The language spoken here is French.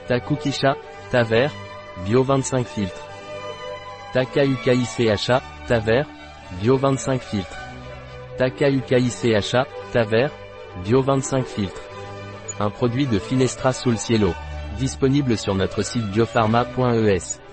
Takukisha, thé vert, bio 25 filtres. Takaukicha, thé vert, bio 25 filtres. Takaukicha, thé vert, bio 25 filtres. Un produit de Finestra Sul Cielo. Disponible sur notre site biopharma.es.